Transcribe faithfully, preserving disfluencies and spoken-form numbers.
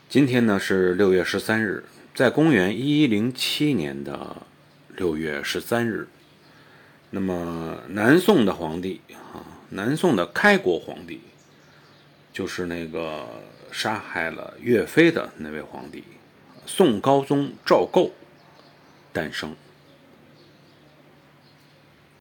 今天呢是六月十三日，在公元一一零七年的六月十三日，那么南宋的皇帝啊，南宋的开国皇帝，就是那个杀害了岳飞的那位皇帝，宋高宗赵构诞生。